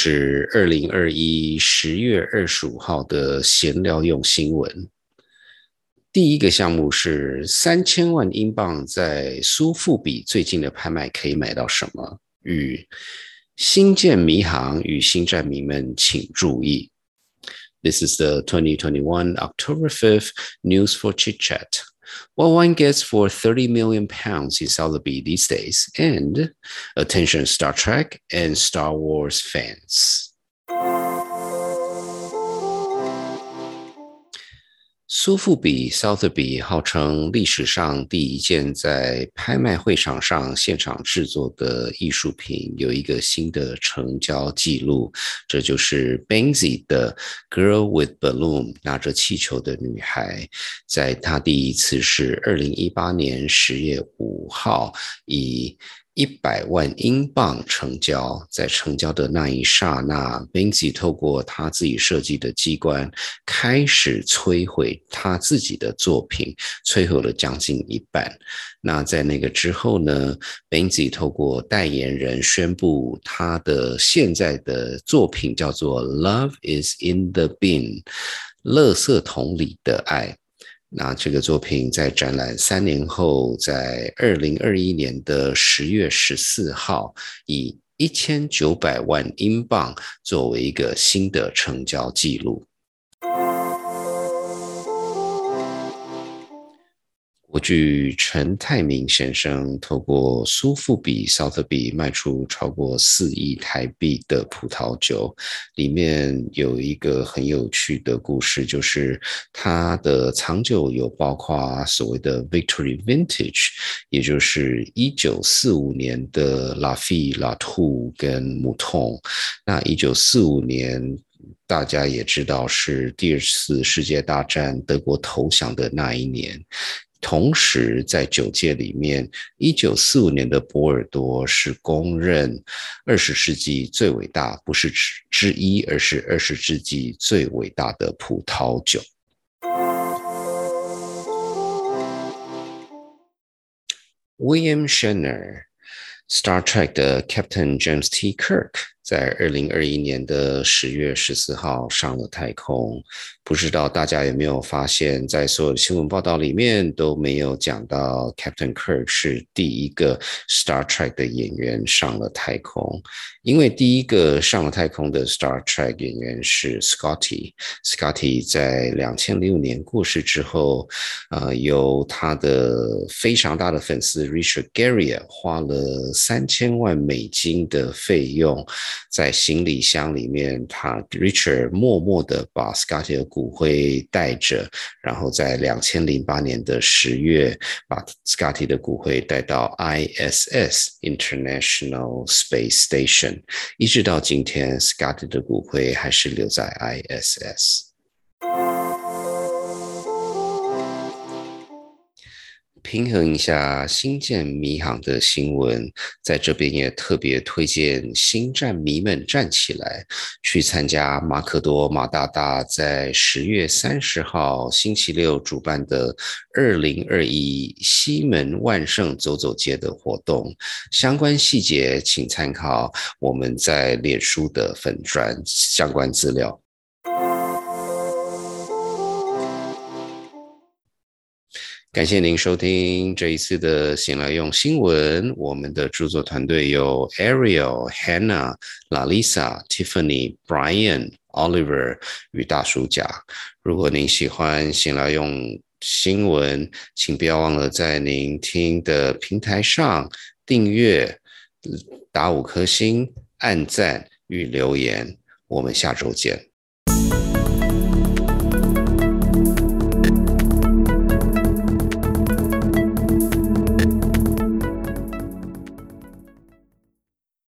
是2021年10月25号的闲聊用新闻。第一个项目是3000万英镑在苏富比最近的拍卖可以买到什么？与星舰迷航与星战迷们请注意。This is the 2021 October 5th news for Chit Chat. What one gets for £30 million in Sotheby's these days, and attention Star Trek and Star Wars fans. 苏富比 Sotheby 号称历史上第一件在拍卖会场上现场制作的艺术品有一个新的成交记录，这就是 Banksy 的 Girl with Balloon 拿着气球的女孩，在她第一次是2018年10月5号以100万英镑成交，在成交的那一刹那 Banksy 透过他自己设计的机关开始摧毁他自己的作品，摧毁了将近一半。那在那个之后呢， Banksy 透过代言人宣布他的现在的作品叫做 Love is in the bin， 垃圾桶里的爱。那这个作品在展览3年后，在2021年的10月14号，以1900万英镑作为一个新的成交记录。国巨陈泰明先生透过苏富比 Sotheby 卖出超过4亿台币的葡萄酒，里面有一个很有趣的故事，就是他的藏酒有包括所谓的 Victory Vintage， 也就是1945年的 Lafite、Latour 跟 Mouton。 那1945年大家也知道是第二次世界大战德国投降的那一年，同时在酒界里面1945年的波尔多是公认20世纪最伟大，不是之一，而是20世纪最伟大的葡萄酒。William Shatner Star Trek 的 Captain James T. Kirk 在2021年的10月14号上了太空，不知道大家有没有发现，在所有的新闻报道里面都没有讲到 Captain Kirk 是第一个 Star Trek 的演员上了太空，因为第一个上了太空的 Star Trek 演员是 Scotty 在2006年过世之后，由他的非常大的粉丝 Richard Garriott 花了3000万美金的费用，在行李箱里面，Richard 默默的把 Scotty 的骨灰带着，然后在2008年的10月把 Scotty 的骨灰带到 ISS International Space Station， 一直到今天 Scotty 的骨灰还是留在 ISS。平衡一下星舰迷航的新闻，在这边也特别推荐星战迷们站起来，去参加马可多马大大在10月30号星期六主办的2021西门万圣走走街的活动，相关细节请参考我们在脸书的粉专相关资料。感谢您收听这一次的闲来用新闻，我们的著作团队有 Ariel、Hannah、Lalisa、Tiffany、Brian、Oliver 与大叔甲。如果您喜欢闲来用新闻，请不要忘了在您听的平台上订阅、打5颗星、按赞与留言。我们下周见。